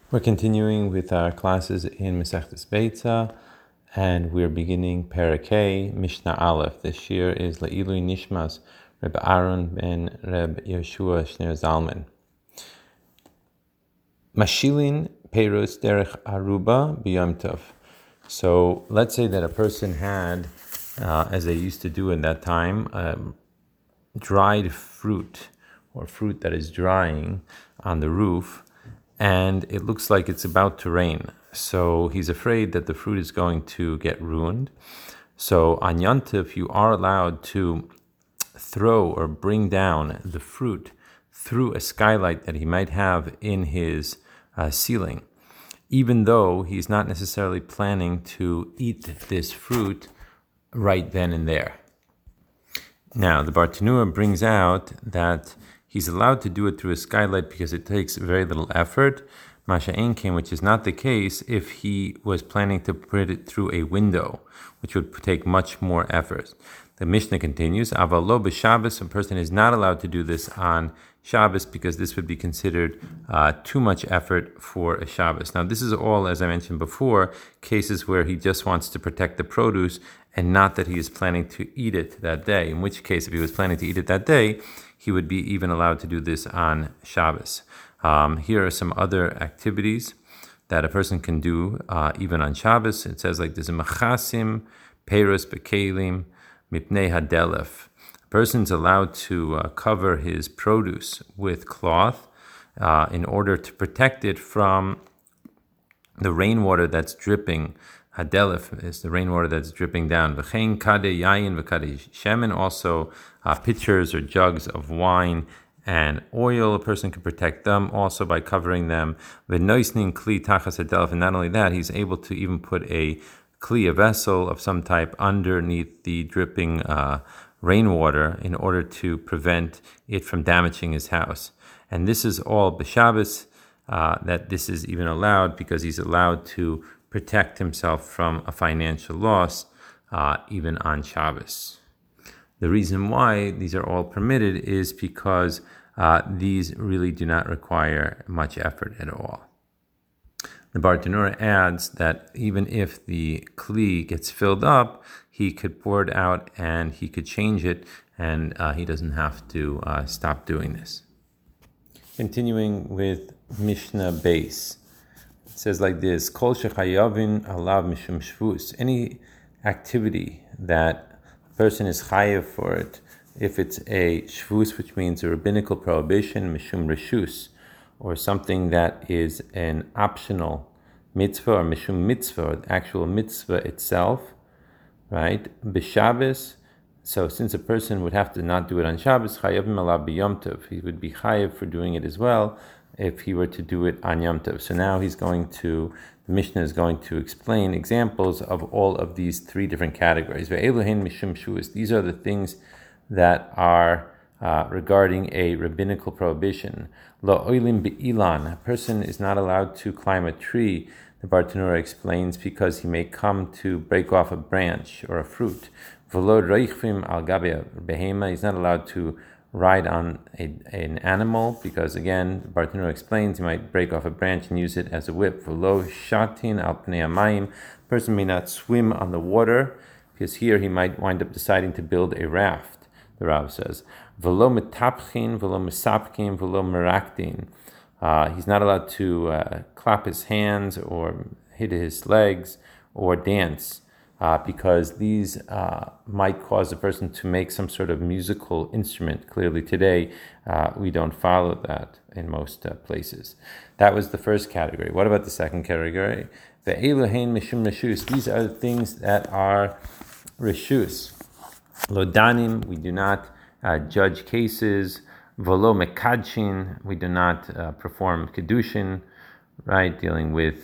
We're continuing with our classes in Masechtas Beitza, and we're beginning Parakeh, Mishnah Aleph. This year is Le'ilui Nishmas, Reb Aaron ben Reb Yeshua Shner Zalman. Mashilin Peirus Derech Aruba B'Yom Tov. So let's say that a person had, as they used to do in that time, dried fruit or fruit that is drying on the roof, and it looks like it's about to rain. So he's afraid that the fruit is going to get ruined. So on Yom Tov, you are allowed to throw or bring down the fruit through a skylight that he might have in his ceiling, even though he's not necessarily planning to eat this fruit right then and there. Now, the Bartanura brings out that he's allowed to do it through a skylight because it takes very little effort, Masha Enkin, which is not the case if he was planning to put it through a window, which would take much more effort. The Mishnah continues, Aval lo b'Shabbos, a person is not allowed to do this on Shabbos because this would be considered too much effort for a Shabbos. Now, this is all, as I mentioned before, cases where he just wants to protect the produce and not that he is planning to eat it that day, in which case, if he was planning to eat it that day, he would be even allowed to do this on Shabbos. Here are some other activities that a person can do even on Shabbos. It says like this, Machasim, Peirus, Bekelim, Mipnei Hadelef. A person's allowed to cover his produce with cloth in order to protect it from the rainwater that's dripping. Hadelef is the rainwater that's dripping down. V'chein kadeh yayin v'kadeh shemen, also pitchers or jugs of wine and oil. A person can protect them also by covering them. V'noisnin kli tachas hadelef, and not only that, he's able to even put a vessel of some type underneath the dripping rainwater in order to prevent it from damaging his house. And this is all b'Shabbos, that this is even allowed because he's allowed to protect himself from a financial loss even on Shabbos. The reason why these are all permitted is because these really do not require much effort at all. The Bartanura adds that even if the kli gets filled up, he could pour it out and he could change it, and he doesn't have to stop doing this. Continuing with Mishnah Beis, it says like this: Kol shechayavin alav mishum shvus. Any activity that a person is chayav for it, if it's a shvus, which means a rabbinical prohibition, mishum reshus, or something that is an optional mitzvah, or mishum mitzvah, or the actual mitzvah itself, right? B'Shabbos. So since a person would have to not do it on Shabbos, chayavim alav b'Yom Tov, he would be chayav for doing it as well if he were to do it on Yom Tov. So now the Mishnah is going to explain examples of all of these three different categories. Ve'eluhen mishum shuas. These are the things that are regarding a rabbinical prohibition. Lo oilim be'ilan. A person is not allowed to climb a tree, the Bartanura explains, because he may come to break off a branch or a fruit. V'lo reichvim al gabe behema. He's not allowed to ride on an animal because, again, Bartanura explains, he might break off a branch and use it as a whip. V'lo shatin al pnei hamayim. A person may not swim on the water because here he might wind up deciding to build a raft, the Rav says. V'lo metapchin, v'lo mesapkin, v'lo meraktin. He's not allowed to clap his hands or hit his legs or dance because these might cause a person to make some sort of musical instrument. Clearly today, we don't follow that in most places. That was the first category. What about the second category? The Elohein mishum reshus. These are the things that are reshus. Lodanim, we do not judge cases. Volo mekadshin, we do not perform kedushin, right? Dealing with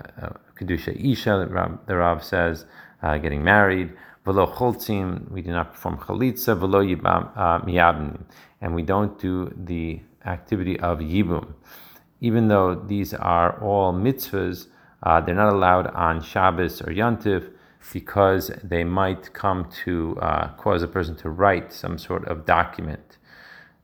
kedusha isha, the Rav says, getting married. Volo choltzim, we do not perform chalitza. Volo yibam miyabnim, and we don't do the activity of yibum. Even though these are all mitzvahs, they're not allowed on Shabbos or Yom Tov because they might come to cause a person to write some sort of document.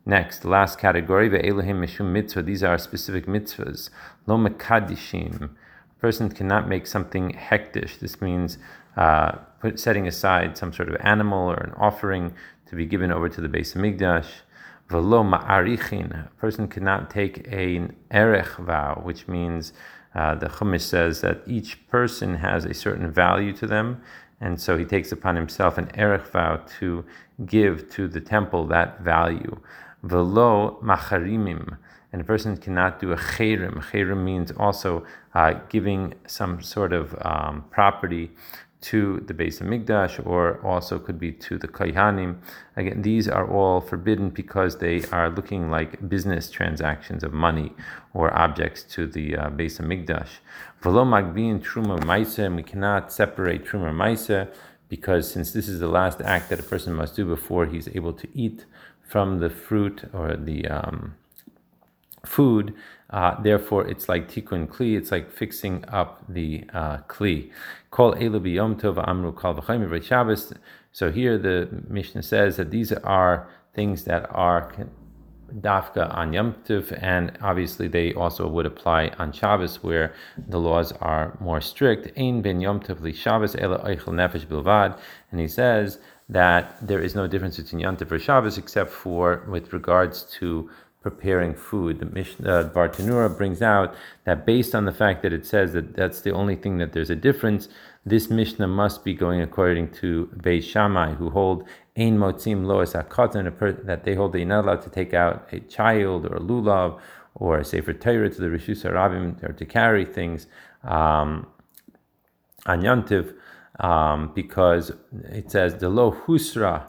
Next, the last category, ve'elahim mishum mitzvah. These are specific mitzvahs. Lo mekadishim. A person cannot make something hektish. This means setting aside some sort of animal or an offering to be given over to the Beis Hamikdash. V'lo ma'arichin. A person cannot take an erech vow, which means the Chumash says that each person has a certain value to them, and so he takes upon himself an erech vow to give to the temple that value. Velo macharimim, and a person cannot do a chayrim. Chayrim means also giving some sort of property to the Beis Hamikdash, or also could be to the Kohanim. Again, these are all forbidden because they are looking like business transactions of money or objects to the Beis Hamikdash. Velo magbin truma maisa, and we cannot separate truma maisa, because since this is the last act that a person must do before he's able to eat from the fruit or the food, therefore it's like tikkun kli, it's like fixing up the kli. Kol elu b'yom tov amru kal v'chayim v'rei Shabbos. So here the Mishnah says that these are things that are dafka on Yom Tov, and obviously they also would apply on Shabbos, where the laws are more strict. Ein ben Yom Tov li Shabbos ela oichel nefesh bilvad, and he says that there is no difference between Yom Tov or Shabbos except for with regards to preparing food. The Mishnah Bartanura brings out that based on the fact that it says that that's the only thing that there's a difference, this Mishnah must be going according to Beis Shammai, who hold ein motzim lois hakatan, that they hold that you're not allowed to take out a child or a lulav or a sefer Torah to the Rishus Harabim, or to carry things on Yom Tov, because it says the lo husra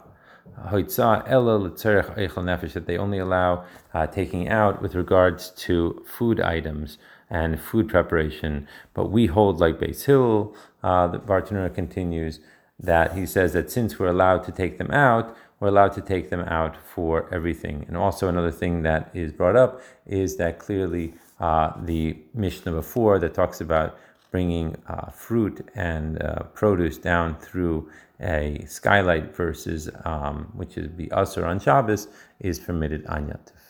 that they only allow taking out with regards to food items and food preparation. But we hold like Beis Hill, the Bartanura continues, that he says that since we're allowed to take them out, we're allowed to take them out for everything. And also another thing that is brought up is that clearly the Mishnah before that talks about bringing fruit and produce down through a skylight versus which is the Asur on Shabbos, is permitted on Yom Tov.